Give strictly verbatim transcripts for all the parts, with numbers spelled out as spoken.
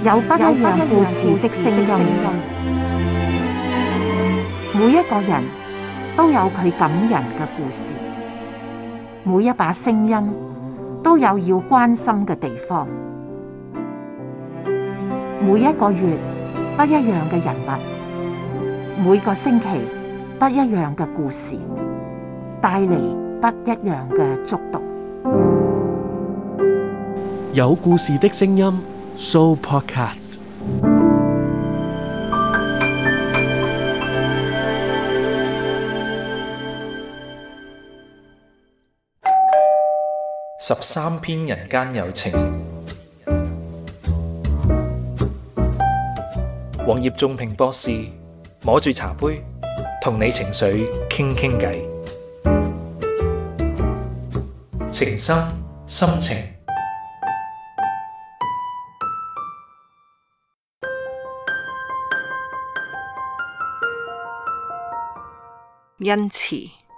有不一樣故事的聲音，每一個人都有佢感人嘅故事，每一把聲音都有要關心嘅地方。每一個月不一樣嘅人物，每個星期不一樣嘅故事，帶嚟不一樣嘅觸動。 有故事的聲音 Sooo Podcast。 十三篇人間有情，黃葉仲平博士摸住茶杯，同你情緒傾傾偈，情深深情。 恩慈。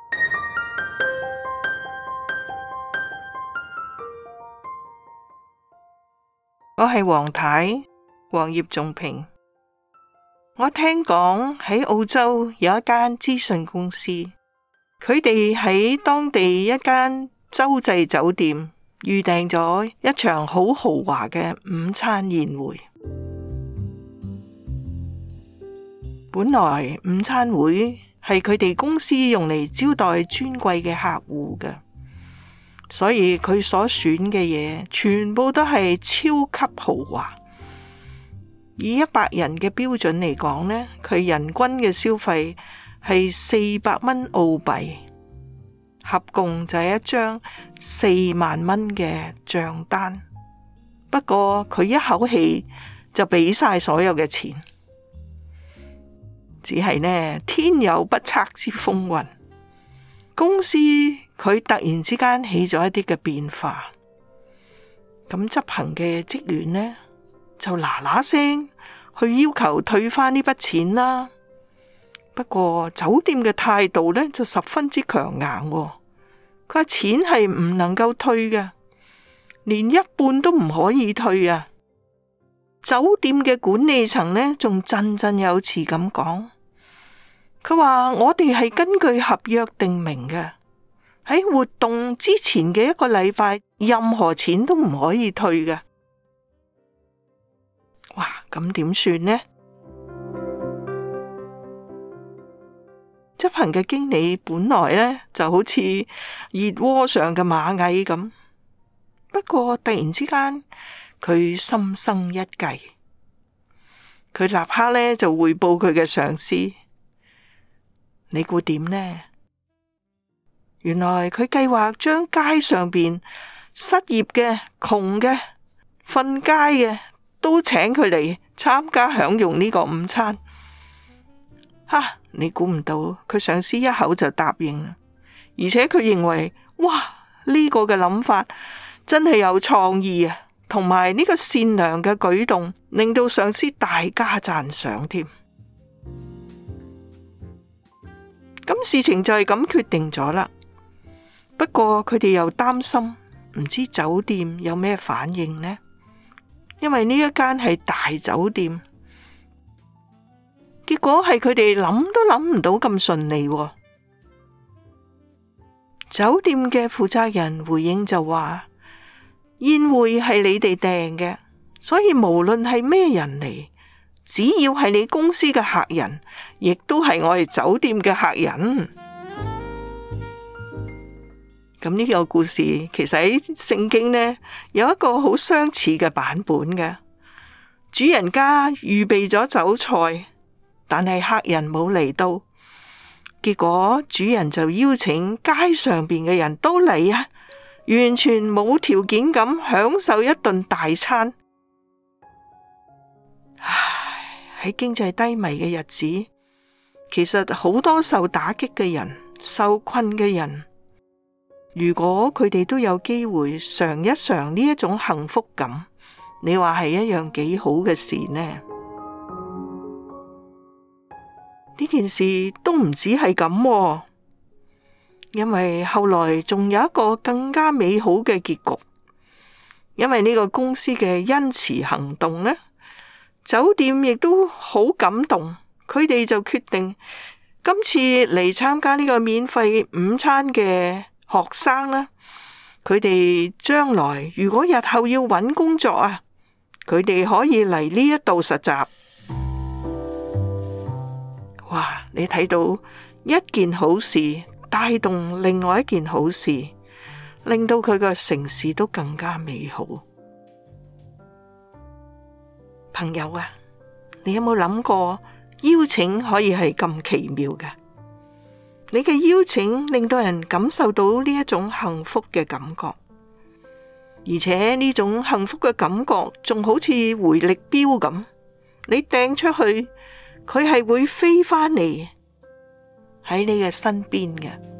我係黃太，黃葉仲平。我聽講喺澳洲有一間資訊公司，佢哋喺當地一間洲際酒店預訂咗一場好豪華嘅午餐宴會。本來午餐會係佢哋公司用嚟招待尊貴嘅客戶嘅，所以佢所選嘅嘢全部都係超級豪華。以一百人嘅標準嚟講呢，佢人均嘅消費係四百蚊澳幣，合共就係一張四萬蚊嘅賬單。不過佢一口氣就俾晒所有嘅錢。只係呢，天有不測之風雲，公司佢突然之間起咗一啲嘅變化，咁執行嘅職員呢就嗱嗱聲去要求退翻呢筆錢啦。不過酒店嘅態度呢就十分之強硬，佢話錢係唔能夠退嘅，連一半都唔可以退啊！酒店嘅管理層呢仲振振有詞咁講。佢話我哋係根據合約定明嘅，喺活動之前嘅一個禮拜，任何錢都唔可以退嘅。哇，咁點算呢？執行嘅經理本來呢就好似熱鍋上嘅螞蟻咁，不過突然之間佢心生一計，佢立刻呢就匯報佢嘅上司。你估點呢？原來佢計劃將街上邊失業嘅、窮嘅、瞓街嘅都請佢嚟參加享用呢個午餐。哈！你估唔到佢上司一口就答應啦，而且佢認為哇，呢個嘅諗法真係有創意啊，同埋呢個善良嘅舉動令到上司大加讚賞添。咁事情就係咁決定咗啦。不過佢哋又擔心，唔知酒店有咩反應呢？因為呢一間係大酒店，結果係佢哋諗都諗唔到咁順利喎。酒店嘅負責人回應就話：宴會係你哋訂嘅，所以無論係咩人嚟，只要係你公司嘅客人，亦都係我哋酒店嘅客人。咁呢個故事其實喺聖經呢有一個好相似嘅版本嘅。主人家預備咗酒菜，但係客人冇嚟到，結果主人就邀請街上邊嘅人都嚟啊，完全冇條件咁享受一頓大餐。喺經濟低迷嘅日子，其實好多受打擊嘅人、受困嘅人，如果佢哋都有機會嘗一嘗呢一種幸福感，你話係一樣幾好嘅事呢？呢件事都唔止係咁喎，因為後來仲有一個更加美好嘅結局。因為呢個公司嘅恩慈行動呢， 酒店亦都好感動，佢哋就決定今次嚟參加呢個免費午餐嘅學生啦，佢哋將來如果日後要揾工作啊，佢哋可以嚟呢一度實習。哇！你睇到一件好事帶動另外一件好事，令到佢個城市都更加美好。朋友啊，你有冇諗過邀請可以係咁奇妙嘅？你嘅邀請令到人感受到呢一種幸福嘅感覺，而且呢種幸福嘅感覺仲好似回力鏢咁，你掟出去，佢係會飛返嚟喺你嘅身邊嘅。